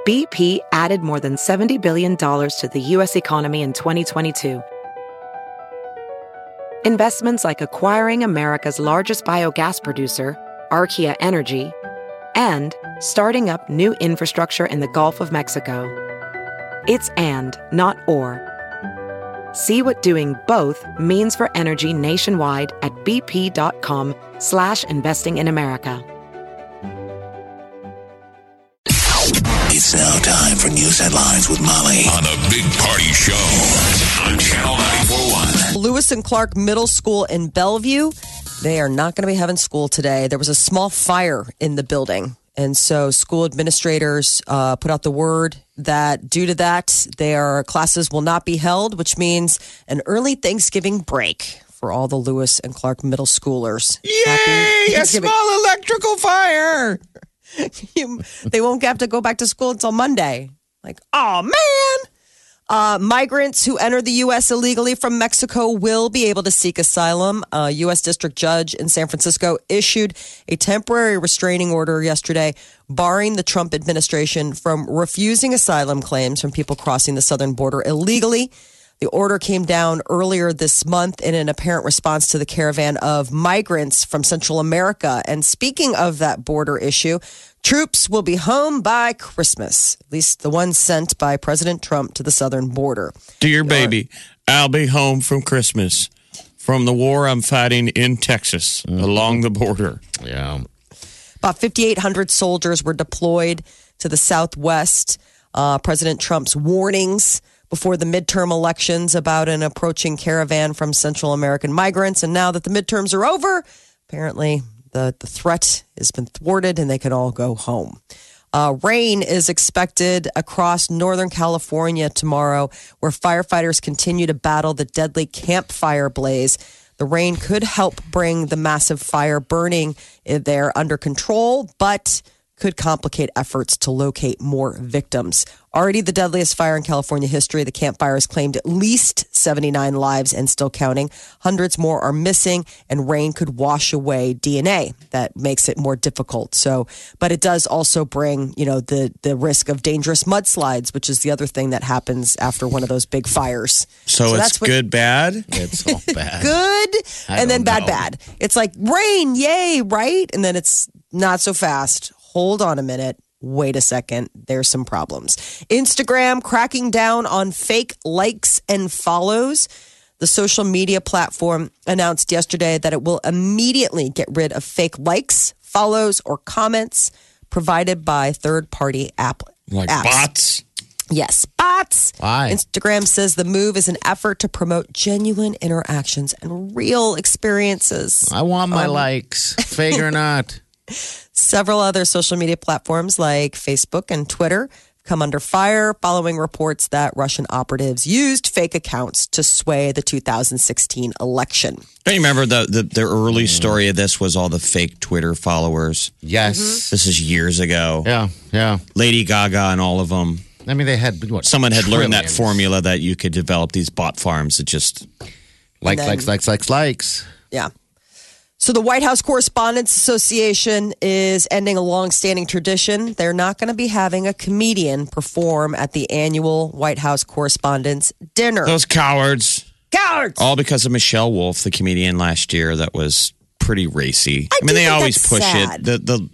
BP added more than $70 billion to the U.S. economy in 2022. Investments like acquiring America's largest biogas producer, Archaea Energy, and starting up new infrastructure in the Gulf of Mexico. It's and, not or. See what doing both means for energy nationwide at bp.com/investing in America. It's now time for news headlines with Molly on the Big Party Show on Channel 94.1. Lewis and Clark Middle School in Bellevue, they are not going to be having school today. There was a small fire in the building. And so school administrators put out the word that due to that, their classes will not be held, which means an early Thanksgiving break for all the Lewis and Clark middle schoolers. Yay! A small electrical fire! They won't have to go back to school until Monday. Like, oh, man! Migrants who enter the U.S. illegally from Mexico will be able to seek asylum. A U.S. district judge in San Francisco issued a temporary restraining order yesterday, barring the Trump administration from refusing asylum claims from people crossing the southern border illegally. The order came down earlier this month in an apparent response to the caravan of migrants from Central America. And speaking of that border issue, troops will be home by Christmas, at least the ones sent by President Trump to the southern border. Dear baby, I'll be home from Christmas from the war I'm fighting in Texas along the border. Yeah. About 5,800 soldiers were deployed to the Southwest. President Trump's warnings before the midterm elections about an approaching caravan from Central American migrants. And now that the midterms are over, apparently the threat has been thwarted and they can all go home. Rain is expected across Northern California tomorrow, where firefighters continue to battle the deadly campfire blaze. The rain could help bring the massive fire burning there under control, but could complicate efforts to locate more victims. Already the deadliest fire in California history, the Camp Fire has claimed at least 79 lives and still counting. Hundreds more are missing, and rain could wash away DNA. That makes it more difficult. So, but it does also bring, the risk of dangerous mudslides, which is the other thing that happens after one of those big fires. So it's good, bad? It's all bad. Good, and then bad. It's like rain, yay, right? And then it's not so fast. Hold on a minute. Wait a second. There's some problems. Instagram cracking down on fake likes and follows. The social media platform announced yesterday that it will immediately get rid of fake likes, follows, or comments provided by third-party apps. Bots? Yes, bots. Why? Instagram says the move is an effort to promote genuine interactions and real experiences. I want my likes, fake or not. Several other social media platforms like Facebook and Twitter come under fire following reports that Russian operatives used fake accounts to sway the 2016 election. Don't you remember the early story of this was all the fake Twitter followers? Yes. This is years ago. Yeah. Lady Gaga and all of them. I mean, they had, Someone had learned that trillions. formula that you could develop these bot farms that just... Likes. Yeah. So the White House Correspondents Association is ending a long-standing tradition. They're not going to be having a comedian perform at the annual White House Correspondents' Dinner. Those cowards. Cowards! All because of Michelle Wolf, the comedian last year that was pretty racy. I mean, they always push sad. it.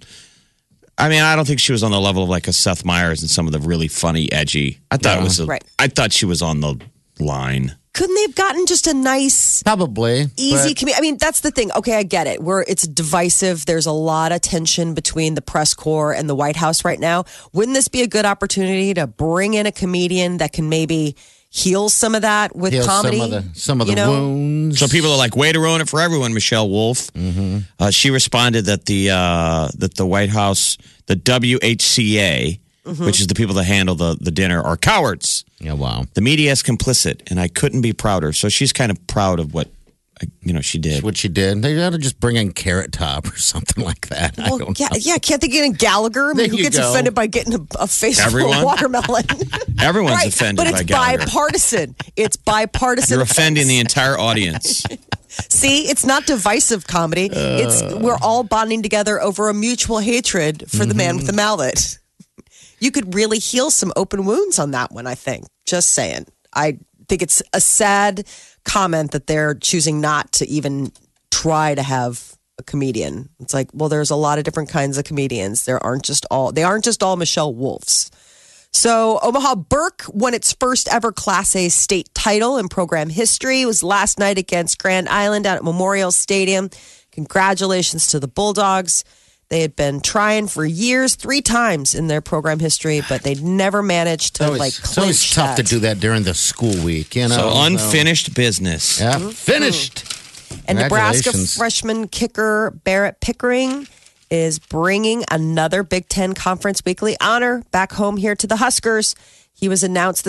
I don't think she was on the level of like a Seth Meyers and some of the really funny, edgy. I thought it was. Right. I thought she was on the line. Couldn't they have gotten just a nice, Probably. easy comedian? I mean, that's the thing. Okay, I get it. Where it's divisive. There's a lot of tension between the press corps and the White House right now. Wouldn't this be a good opportunity to bring in a comedian that can maybe heal some of that with comedy? Some of the wounds. So people are like, way to ruin it for everyone, Michelle Wolf. Mm-hmm. She responded that the White House, the WHCA, which is the people that handle the dinner, are cowards. Yeah, wow. The media is complicit, and I couldn't be prouder. So she's kind of proud of what she did. What she did. They got to just bring in Carrot Top or something like that. Well, can't they get in Gallagher? I mean, who gets offended by getting a face full of watermelon? Everyone's right, offended but by it's Gallagher. bipartisan. It's bipartisan. You're offending the entire audience. See, it's not divisive comedy. We're all bonding together over a mutual hatred for the man with the mallet. you could really heal some open wounds on that one, I think. Just saying. I think it's a sad comment that they're choosing not to even try to have a comedian. It's like, well, there's a lot of different kinds of comedians. They aren't just all Michelle Wolfs. So Omaha Burke won its first ever Class A state title in program history. It was last night against Grand Island out at Memorial Stadium. Congratulations to the Bulldogs. They had been trying for years, 3 times in their program history, but they'd never managed to clinch It's always tough to do that during the school week, you know. So unfinished business. Yeah, finished. And Nebraska Congratulations. freshman kicker Barrett Pickering is bringing another Big Ten Conference Weekly honor back home here to the Huskers. He was announced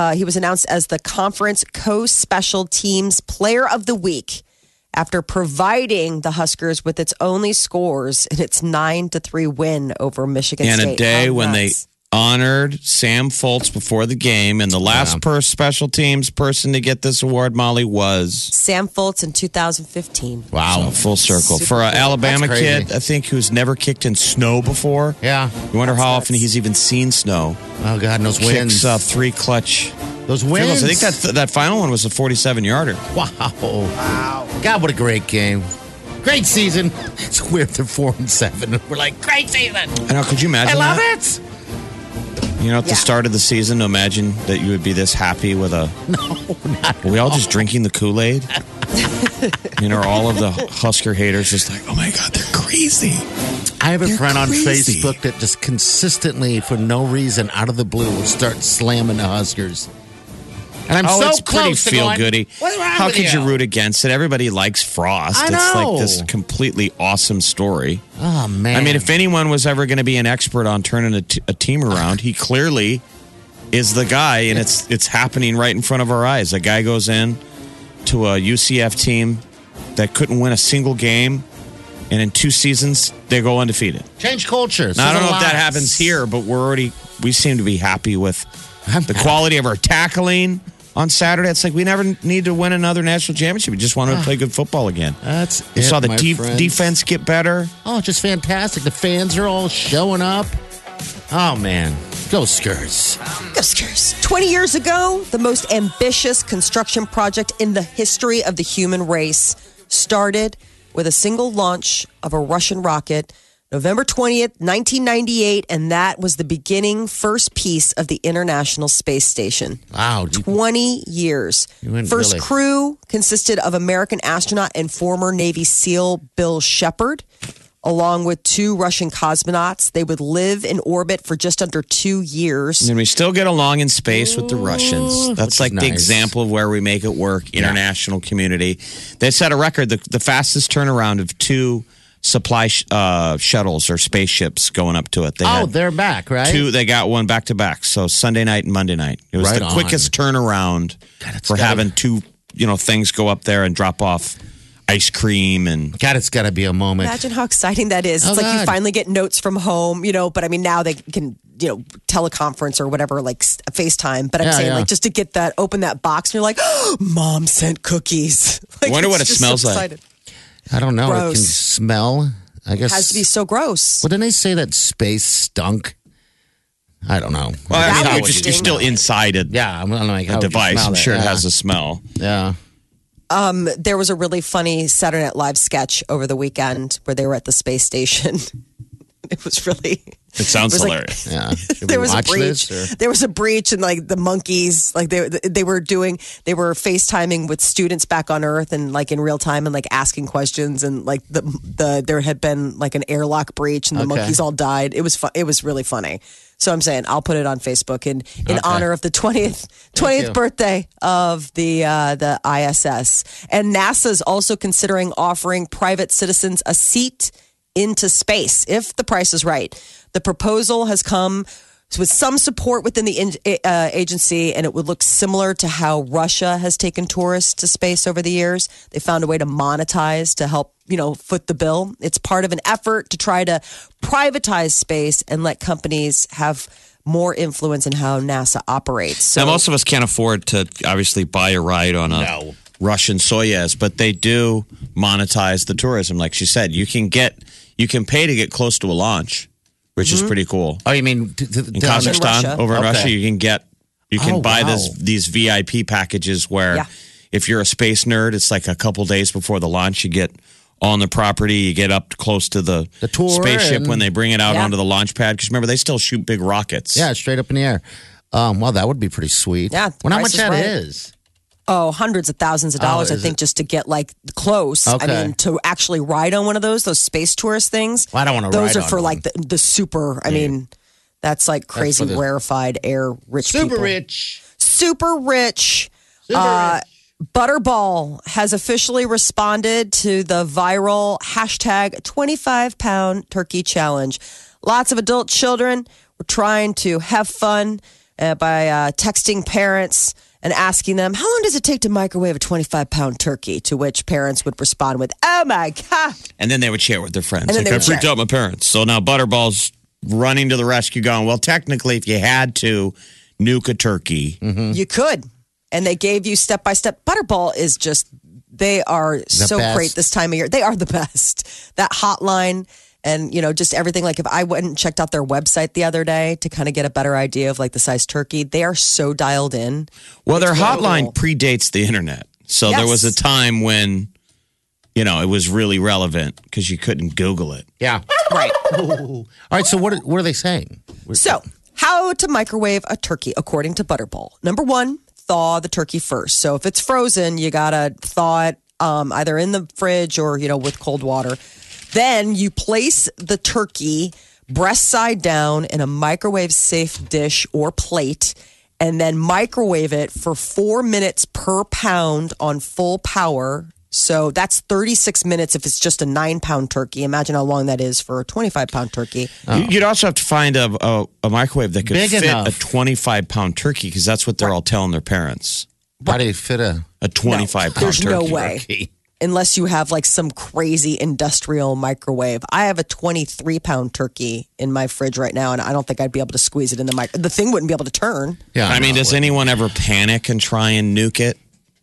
as the conference co-special teams player of the week after providing the Huskers with its only scores in its 9-3 win over Michigan And State. a day How when they nuts. honored Sam Foltz before the game, and the last special teams person to get this award, Molly, was Sam Foltz in 2015. Wow. full circle Super for an cool. Alabama That's crazy. kid. I think who's never kicked in snow before. Yeah. You wonder how That's often nuts. he's even seen snow. Oh, God, and those wins. Kicks 3 clutch. Those field wins. goals. I think that final one was a 47-yarder. Wow. God, what a great game. Great season. It's weird they're 4-7. We're like, great season. I know. Could you I imagine love that? it. You know, at the start of the season, imagine that you would be this happy with a. No, not Are we all just drinking the Kool-Aid? You know, all of the Husker haters just like, oh my God, they're crazy. I have a They're friend on crazy. Facebook that just consistently, for no reason, out of the blue, will start slamming the Huskers. And I'm so it's pretty close to going, feel-goody. What's wrong How with could you root against it? Everybody likes Frost. I It's know. like this completely awesome story. Oh, man. I mean, if anyone was ever going to be an expert on turning a team around, he clearly is the guy, and it's happening right in front of our eyes. A guy goes in to a UCF team that couldn't win a single game, and in 2 seasons, they go undefeated. Change culture. Now, I don't know if that Says a lot. happens here, but we seem to be happy with the quality of our tackling on Saturday. It's like we never need to win another national championship. We just want to play good football again. That's You it, saw the my friends. defense get better. Oh, just fantastic. The fans are all showing up. Oh, man. Go Skurs. Huskers. 20 years ago, the most ambitious construction project in the history of the human race started with a single launch of a Russian rocket, November 20th, 1998, and that was the beginning first piece of the International Space Station. Wow. 20 years. You went First really- crew consisted of American astronaut and former Navy SEAL Bill Shepard, along with 2 Russian cosmonauts. They would live in orbit for just under 2 years. And we still get along in space with the Russians. That's Which like is the nice. example of where we make it work, international community. They set a record, the fastest turnaround of 2 supply shuttles or spaceships going up to it. They had They're back, right? 2, they got one back to back. So Sunday night and Monday night. It was Right the on. quickest turnaround it's for gotta- having 2, things go up there and drop off ice cream and God, it's got to be a moment. Imagine how exciting that is. It's Oh, like you God. finally get notes from home, but I mean, now they can, teleconference or whatever, like FaceTime. But I'm Yeah, saying, yeah. like, just to get that, open that box, and you're like, oh, Mom sent cookies. Like, Wonder what it's it just so smells like. excited. I don't know. It can Gross. smell. I guess. It has to be so gross. Well, didn't they say that space stunk? I don't know. well, I That mean, would you're still stink. inside a Yeah, I'm like, how would you device. smell I'm that? sure it Yeah. has a smell. Yeah. There was a really funny Saturday Night Live sketch over the weekend where they were at the space station. It was really. It sounds It was like- hilarious. Yeah. Should There we was a watch breach. this, or- There was a breach, and like the monkeys, like they were FaceTiming with students back on Earth, and like in real time, and like asking questions, and like there had been like an airlock breach, and the Okay. monkeys all died. It was it was really funny. So I'm saying I'll put it on Facebook in honor of the 20th you. birthday of the ISS, and NASA's also considering offering private citizens a seat into space if the price is right. The proposal has come with some support within the agency, and it would look similar to how Russia has taken tourists to space over the years. They found a way to monetize to help, foot the bill. It's part of an effort to try to privatize space and let companies have more influence in how NASA operates. So Now, most of us can't afford to obviously buy a ride on a Russian Soyuz, but they do monetize the tourism. Like she said, you can pay to get close to a launch. which is pretty cool. Oh, you mean In Kazakhstan, Russia. over in Okay. Russia, you can buy wow. these VIP packages where Yeah. if you're a space nerd, it's like a couple days before the launch, you get on the property, you get up close to the tour spaceship and- when they bring it out Yeah. onto the launch pad. Because remember, they still shoot big rockets. Yeah, straight up in the air. Well, that would be pretty sweet. Yeah, the Well, how price much is that right. is? Oh, hundreds of thousands of dollars, I is think, it? just to get like close. Okay. I mean, to actually ride on one of those space tourist things. Well, I don't wanna Those ride are on for one. like the super. I mean, that's like crazy for the- rarefied air rich Super people. rich. Super rich. Butterball has officially responded to the viral hashtag 25-pound turkey challenge. Lots of adult children were trying to have fun by texting parents and asking them, how long does it take to microwave a 25-pound turkey? To which parents would respond with, oh my God. And then they would share with their friends. And then Like, they I would freaked share. out my parents. So now Butterball's running to the rescue going, well, technically, if you had to nuke a turkey, You could. And they gave you step by step. Butterball is just, they are so best. great this time of year. They are the best. That hotline and, just everything. Like if I went and checked out their website the other day to kind of get a better idea of like the size turkey, they are so dialed in. well, their It's really hotline cool. predates the internet. So there was a Yes. time when, it was really relevant because you couldn't Google it. Yeah. Right. All right. So what are they saying? So, how to microwave a turkey according to Butterball. Number one, thaw the turkey first. So, if it's frozen, you got to thaw it either in the fridge or, with cold water. Then you place the turkey breast side down in a microwave safe dish or plate and then microwave it for 4 minutes per pound on full power. So that's 36 minutes if it's just a 9-pound turkey. Imagine how long that is for a 25-pound turkey. You'd also have to find a microwave that could Big fit enough. a 25-pound turkey because that's what they're all telling their parents. How do you fit a A 25-pound There's turkey. no way. turkey? Unless you have like some crazy industrial microwave. I have a 23-pound turkey in my fridge right now, and I don't think I'd be able to squeeze it in the microwave. The thing wouldn't be able to turn. Yeah. I mean, does anyone ever panic and try and nuke it?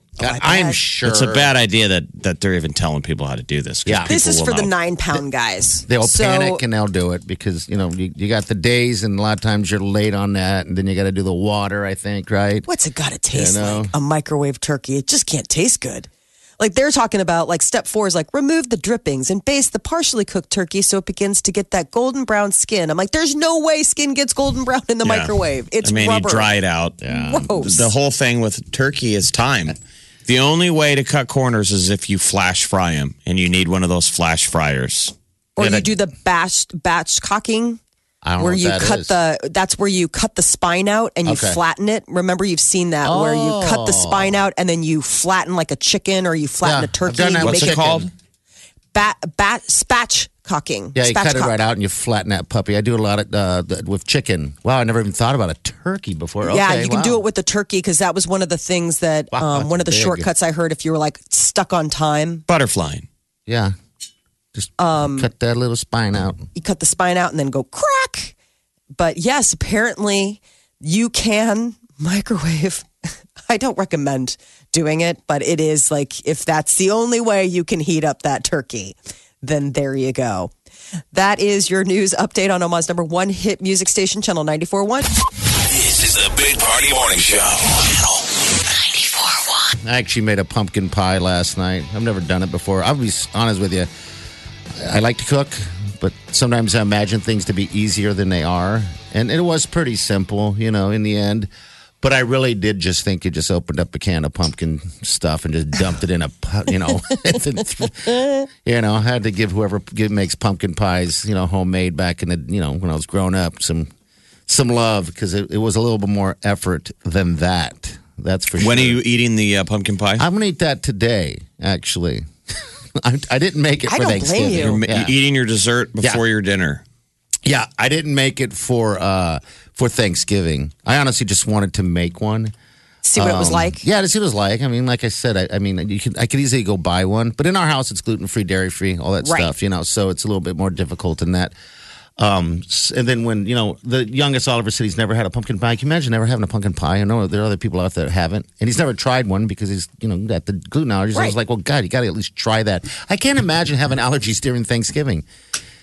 I'm sure It's a bad idea that they're even telling people how to do this. 'cause Yeah. This is people for will the know. 9-pound guys. They'll So- panic and they'll do it because you got the days and a lot of times you're late on that and then you got to do the water. I think right. What's it got to taste know? like? A microwave turkey. It just can't taste good. Like they're talking about like step 4 is like remove the drippings and baste the partially cooked turkey so it begins to get that golden brown skin. I'm like, there's no way skin gets golden brown in the Yeah. microwave. It's I mean, rubber. you dry it out. Gross. The whole thing with turkey is time. The only way to cut corners is if you flash fry them, and you need one of those flash fryers. Or Yeah, you that- do the batch cocking. I don't know Where what you that cut is. that's where you cut the spine out and you Okay. flatten it. Remember, you've seen that where you cut the spine out and then you flatten like a chicken or you flatten Yeah, a turkey. I've done that and you with make What's it chicken. called? spatchcocking. Yeah, you cut it Spatchcock. right out and you flatten that puppy. I do a lot of with chicken. Wow, I never even thought about a turkey before. Yeah, Okay, you can wow. do it with the turkey because that was one of the things that Wow, one of the big. shortcuts I heard if you were like stuck on time. Butterflying. Yeah, just cut that little spine out. You cut the spine out and then go crack. But yes, apparently you can microwave. I don't recommend doing it, but it is like if that's the only way you can heat up that turkey, then there you go. That is your news update on Omaha's number 1 hit music station, Channel 94.1. This is the Big Party Morning Show. Channel 94.1. I actually made a pumpkin pie last night. I've never done it before. I'll be honest with you. I like to cook, but sometimes I imagine things to be easier than they are. And it was pretty simple, in the end. But I really did just think you just opened up a can of pumpkin stuff and just dumped it in a, I had to give whoever makes pumpkin pies, homemade back in the, when I was growing up, some love because it was a little bit more effort than that. That's for sure. When are you eating the pumpkin pie? I'm going to eat that today, actually. I didn't make it I for don't blame Thanksgiving. you. You're Yeah. eating your dessert before your dinner. Yeah, I didn't make it for Thanksgiving. I honestly just wanted to make one. See what it was like. Yeah, to see what it was like. I mean, like I said, I could easily go buy one, but in our house it's gluten free, dairy free, all that Right. stuff. So it's a little bit more difficult than that. And then when the youngest Oliver said he's never had a pumpkin pie. Can you imagine never having a pumpkin pie? I know there are other people out there that haven't, and he's never tried one because he's got the gluten allergies. I was Right. like, well, God, you got to at least try that. I can't imagine having allergies during Thanksgiving.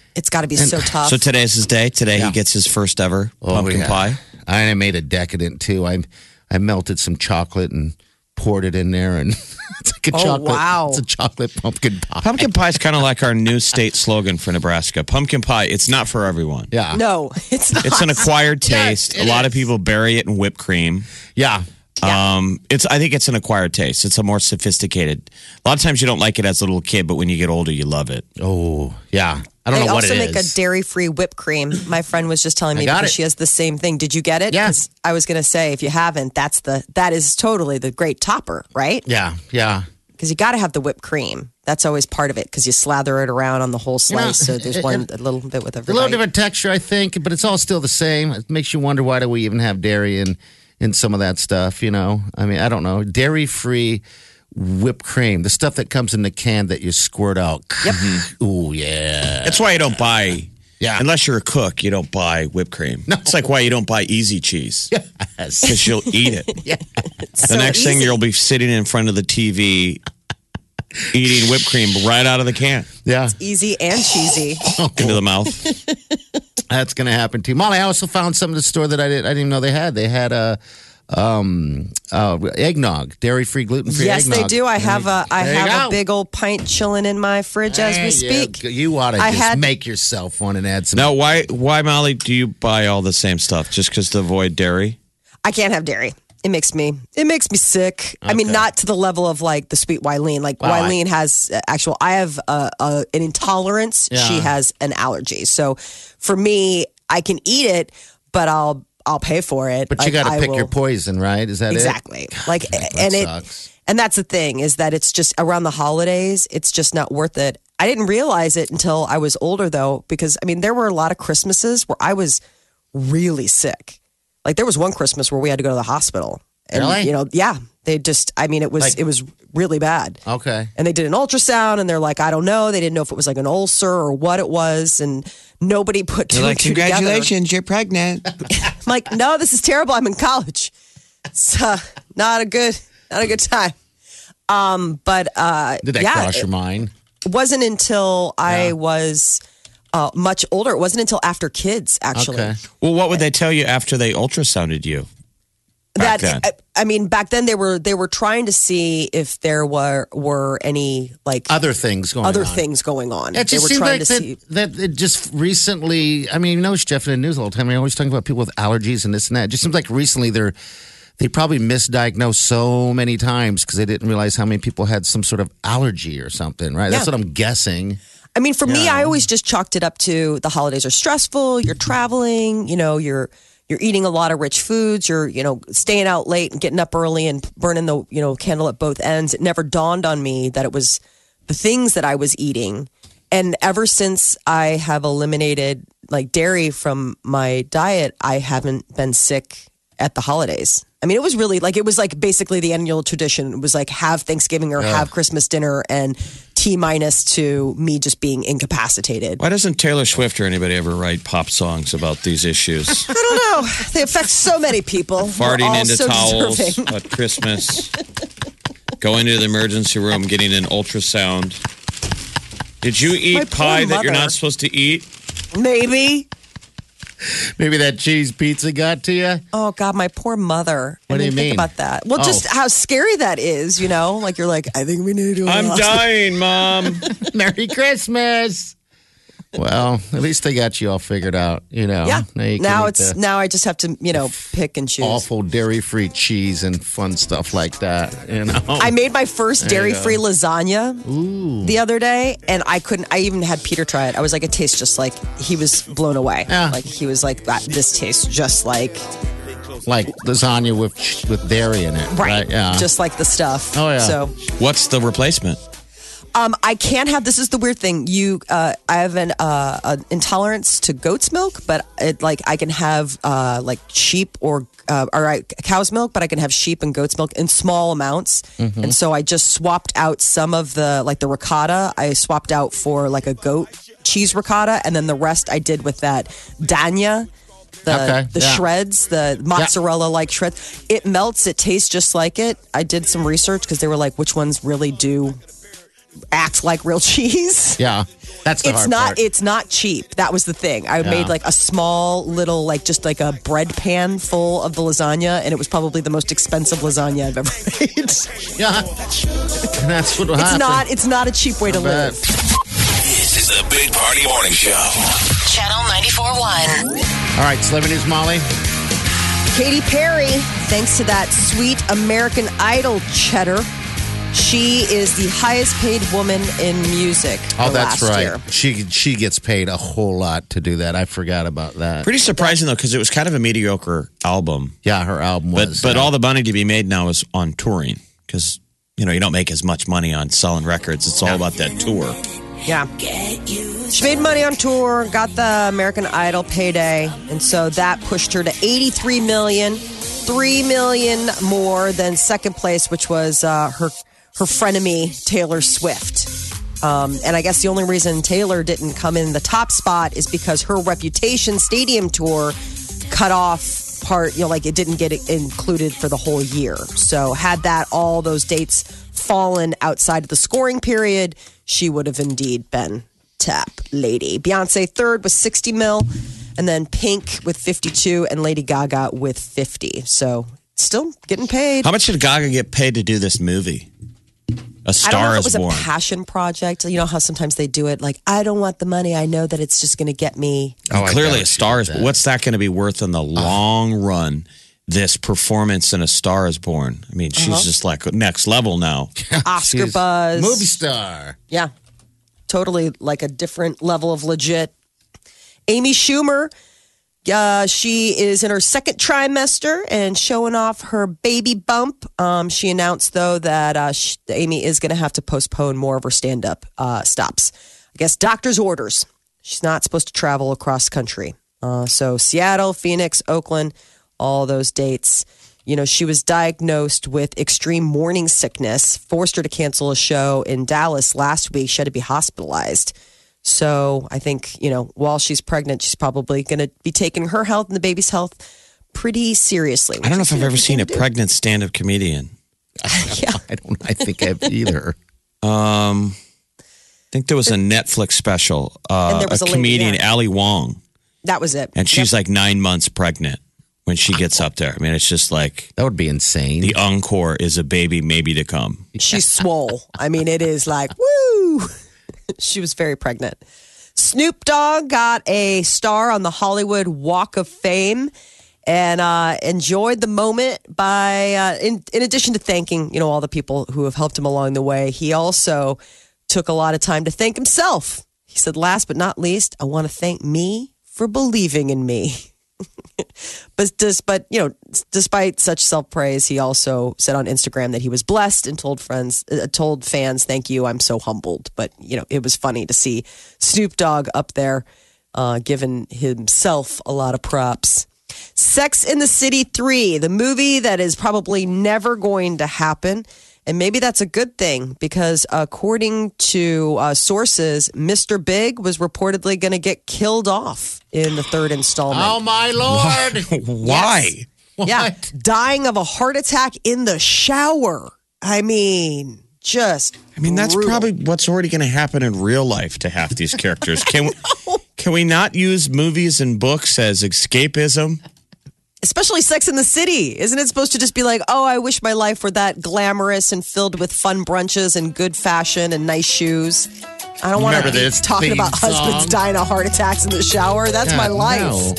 It's got to be so tough. So today's his day. Today he gets his first ever pumpkin pie. I made a decadent too. I melted some chocolate and poured it in there, and it's like a chocolate. Wow. It's a chocolate pumpkin pie. Pumpkin pie is kind of like our new state slogan for Nebraska. Pumpkin pie, it's not for everyone. Yeah. No, it's not. It's an acquired taste. Yes, a lot of people bury it in whipped cream. Yeah. I think it's an acquired taste. It's a more sophisticated. A lot of times you don't like it as a little kid, but when you get older, you love it. Oh, yeah. I don't know what it is. They also make a dairy-free whipped cream. My friend was just telling me because she has the same thing. Did you get it? Yes. I was going to say, if you haven't, that is totally the great topper, right? Yeah, yeah. Because you got to have the whipped cream. That's always part of it because you slather it around on the whole slice. So there's a little bit with every A little bite. different texture, I think, but it's all still the same. It makes you wonder, why do we even have dairy in some of that stuff, you know? I mean, I don't know. Dairy-free whipped cream, the stuff that comes in the can that you squirt out. Yep. Ooh, yeah. That's why you don't buy, Yeah. unless you're a cook, you don't buy whipped cream. No. It's like why you don't buy easy cheese. Yes. Because you'll eat it. The next thing you'll be sitting in front of the TV eating whipped cream right out of the can Yeah. Easy and cheesy. into the mouth. That's going to happen too. Molly, I also found something at the store that I didn't even know they had. They had eggnog, dairy-free, gluten-free Yes, eggnog. they do. I have There you a go. big old pint chilling in my fridge as we speak. You ought to I just had- make yourself one and add some. Now, why, Molly, do you buy all the same stuff? Just because to avoid dairy? I can't have dairy. It makes me sick. I mean, not to the level of like the sweet Wileen. Like Wileen has I have an intolerance. Yeah. She has an allergy. So for me, I can eat it, but I'll pay for it. But you got to pick your poison, right? Is that exactly. it? Like, and sucks. and that's the thing is that it's just around the holidays. It's just not worth it. I didn't realize it until I was older, though, because I mean, there were a lot of Christmases where I was really sick. Like there was one Christmas where we had to go to the hospital. And, Really? you know, yeah. They just, I mean, it was really bad. Okay. And they did an ultrasound and they're like, I don't know. They didn't know if it was like an ulcer or what it was. And nobody put two and two together. you're pregnant. I'm like, no, this is terrible. I'm in college. It's not a good time. But Did that cross your mind? it wasn't until I was much older. It wasn't until after kids, actually. Okay. Well, what would they tell you after they ultrasounded you? Back then. I mean, back then they were trying to see if there were any like Other things going on. things going on. It They just were seems trying like to see. that it just recently, I mean, you know, Jeff in the news all the time. We're always talking about people with allergies and this and that. It just seems like recently they probably misdiagnosed so many times because they didn't realize how many people had some sort of allergy or something, right? That's Yeah. what I'm guessing. I mean, for me, I always just chalked it up to the holidays are stressful. You're traveling, you know, you're eating a lot of rich foods. You're, you know, staying out late and getting up early and burning the, you know, candle at both ends. It never dawned on me that it was the things that I was eating. And ever since I have eliminated like dairy from my diet, I haven't been sick at the holidays. I mean, it was basically the annual tradition. It was like have Thanksgiving or have Christmas dinner and T minus to me just being incapacitated. Why doesn't Taylor Swift or anybody ever write pop songs about these issues? I don't know. They affect so many people. We're Farting all into so towels deserving. at Christmas. Going to the emergency room, getting an ultrasound. Did you My eat poor pie that you're mother. not supposed to eat? Maybe. Maybe that cheese pizza got to you. Oh God, my poor mother. What do you Think mean? about that. Well, just how scary that is. You know, like you're like, I think we need to. I'm dying, Mom. Merry Christmas. Well, at least they got you all figured out, you know. Yeah. you can Now eat the now I just have to, you know, pick and choose. awful dairy-free cheese and fun stuff like that, you know. I made my first There you dairy-free lasagna the other day, and I even had Peter try it. I was like, it tastes just like, he was blown away. Yeah. Like he was like, this tastes just like, like lasagna with dairy in it, right? Yeah. just like the stuff. Oh, yeah. So What's the replacement? I can't have. This is the weird thing. I have an intolerance to goat's milk, but I can have like sheep or cow's milk, but I can have sheep and goat's milk in small amounts. Mm-hmm. And so I just swapped out some of the the ricotta. I swapped out for like a goat cheese ricotta, and then the rest I did with that Dania. The yeah. shreds, the mozzarella like shreds. It melts. It tastes just like it. I did some research because they were like, which ones really do act like real cheese. Yeah. That's the hard part. It's not cheap. That was the thing. I made like a small little, like just like a bread pan full of the lasagna, and it was probably the most expensive lasagna I've ever made. Yeah, and that's what will happen. It's not a cheap way to live. This is the Big Party Morning Show. Channel 94.1. All right, celebrity news, Molly. Katy Perry, thanks to that sweet American Idol cheddar, she is the highest paid woman in music. Oh, that's last right. Year. She gets paid a whole lot to do that. I forgot about that. Pretty surprising, though, because it was kind of a mediocre album. Yeah, her album was. But all the money to be made now is on touring because, you don't make as much money on selling records. It's all about that tour. Yeah. She made money on tour, got the American Idol payday, and so that pushed her to $83 million, $3 million more than second place, which was her frenemy, Taylor Swift. And I guess the only reason Taylor didn't come in the top spot is because her Reputation Stadium tour cut off part, like it didn't get included for the whole year. So had all those dates fallen outside of the scoring period, she would have indeed been top lady. Beyonce third with 60 mil, and then Pink with 52, and Lady Gaga with 50. So still getting paid. How much did Gaga get paid to do this movie? A Star I don't know if is it was Born. a passion project. You know how sometimes they do it like, I don't want the money. I know that it's just going to get me. Clearly, A Star is Born. What's that going to be worth in the long run? This performance in A Star is Born. I mean, she's just like next level now. Oscar buzz. Movie star. Yeah. Totally like a different level of legit. Amy Schumer, she is in her second trimester and showing off her baby bump. She announced, though, that Amy is going to have to postpone more of her stand-up stops. I guess doctor's orders. She's not supposed to travel across country. So Seattle, Phoenix, Oakland, all those dates. She was diagnosed with extreme morning sickness, forced her to cancel a show in Dallas last week. She had to be hospitalized. So I think, while she's pregnant, she's probably going to be taking her health and the baby's health pretty seriously. I don't know if I've ever seen a pregnant stand-up comedian. Yeah. I think I've either. I think there was a Netflix special. And there was a a lady, comedian, yeah. Ali Wong. That was it. And she's like 9 months pregnant when she gets up there. I mean, it's just like That would be insane. the encore is a baby maybe to come. She's swole. I mean, it is like, woo! She was very pregnant. Snoop Dogg got a star on the Hollywood Walk of Fame and enjoyed the moment by, in addition to thanking, all the people who have helped him along the way, he also took a lot of time to thank himself. He said, last but not least, I want to thank me for believing in me. But despite such self-praise, he also said on Instagram that he was blessed and told fans, "Thank you, I'm so humbled." But it was funny to see Snoop Dogg up there, giving himself a lot of props. Sex and the City 3, the movie that is probably never going to happen. And maybe that's a good thing because according to sources, Mr. Big was reportedly going to get killed off in the third installment. Oh, my Lord. Why? What? Yeah, dying of a heart attack in the shower. I mean, just That's brutal. probably what's already going to happen in real life to half these characters. Can we not use movies and books as escapism? Especially Sex in the City. Isn't it supposed to just be like, oh, I wish my life were that glamorous and filled with fun brunches and good fashion and nice shoes. I don't want to Remember be this talking theme about husbands song? dying of heart attacks in the shower. That's my God, life. no.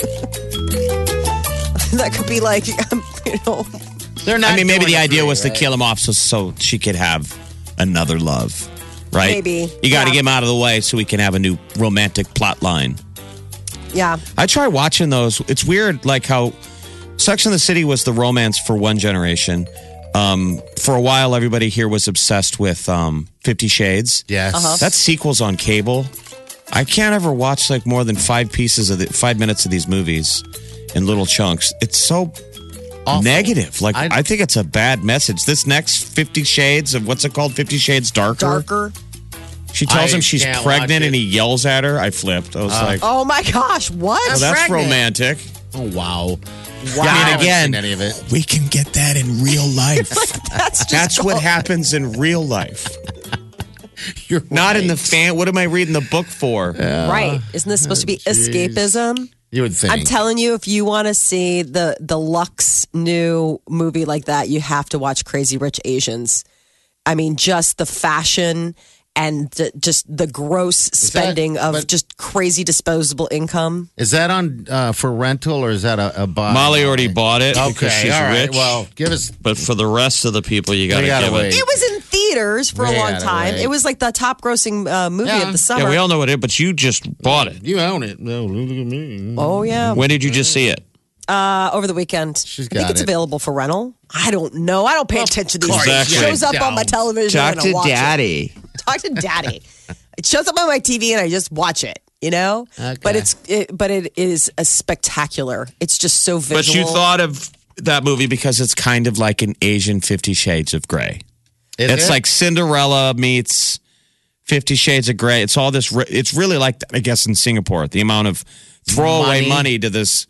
That could be like, They're not. I mean, maybe doing the it idea for was you, to right? kill him off so she could have another love, right? Maybe, You got to yeah. get him out of the way so we can have a new romantic plot line. yeah. I try watching those. It's weird, like how Sex and the City was the romance for one generation. For a while, everybody here was obsessed with 50 Shades. Yes. That's sequels on cable. I can't ever watch like more than 5 minutes of these movies in little chunks. It's so Awful. negative. Like I think it's a bad message. This next 50 Shades of what's it called? 50 Shades Darker. Darker. She tells I him she's can't pregnant watch it. and he yells at her. I flipped. I was like, Oh my gosh, what? well, that's pregnant. romantic. Oh, wow. Wow. I I mean, haven't again, seen any of it. we can get that in real life. That's just That's what happens in real life. You're Not in the right. fan. What am I reading the book for? Right. Isn't this supposed to be escapism? You would think. I'm telling you, if you want to see the Lux new movie like that, you have to watch Crazy Rich Asians. I mean, just the fashion and just the gross spending of just crazy disposable income. Is that on for rental or is that a buy? Molly already bought it because Okay, she's all right. rich. Well, give us. But for the rest of the people, you got to gotta give wait. it. It was in theaters for a We long gotta time. wait. It was like the top grossing movie Yeah. of the summer. Yeah, we all know what it is, but you just bought it. You own it. No, look at me. Oh, yeah. When did you just see it? Over the weekend. She's I think got it's it. available for rental. I don't know. I don't pay attention to these course things. It you shows up on my don't. television. Talk and I to watch it. Daddy. Talk to Daddy. It shows up on my TV and I just watch it. You know, Okay. but it is a spectacular. It's just so visual. But you thought of that movie because it's kind of like an Asian 50 Shades of Grey. It's like Cinderella meets 50 Shades of Grey. It's all this. It's really like, I guess, in Singapore, the amount of throwaway money to this,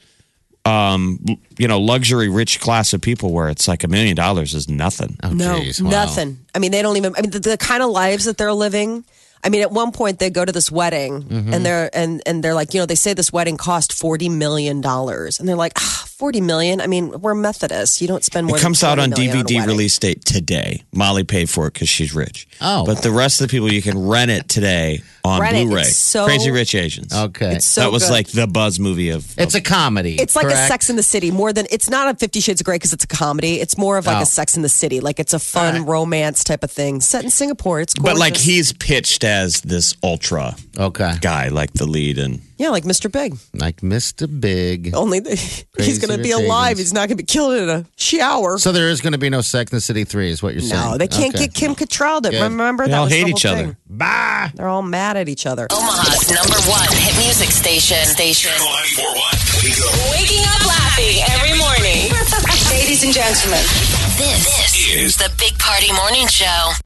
luxury rich class of people where it's like $1 million is nothing. Oh, no, geez, wow. nothing. I mean, they don't even. I mean, the kind of lives that they're living. I mean, at one point they go to this wedding and they're like, they say this wedding cost $40 million, and they're like, $40 million. I mean, we're Methodists. You don't spend more. It comes than out on $40 million DVD a wedding. release date today. Molly paid for it because she's rich. Oh. But the rest of the people, you can rent it today on Rent it. Blu-ray. It's so- Crazy Rich Asians. Okay. It's so that was good. like the buzz movie of. It's a comedy. It's like correct? a Sex in the City more than it's not a 50 Shades of Grey because it's a comedy. It's more of like Oh. a Sex in the City. Like it's a fun romance type of thing set in Singapore. It's gorgeous. But like he's pitched as this ultra Okay. guy, like the lead, and like Mr. Big. Like Mr. Big. Only he's going to be Rich alive. Asians. He's not going to be killed in a shower. So there is going to be no Sex in the City 3 is what you're saying. No, they can't Okay. get Kim Cattrall. Good. Remember they that all was the hate whole each other. thing. Bye. They're all mad at each other. Omaha's #1 hit music station. Channel 94.1. Wake up. Waking up laughing every morning. Ladies and gentlemen, this is the Big Party Morning Show.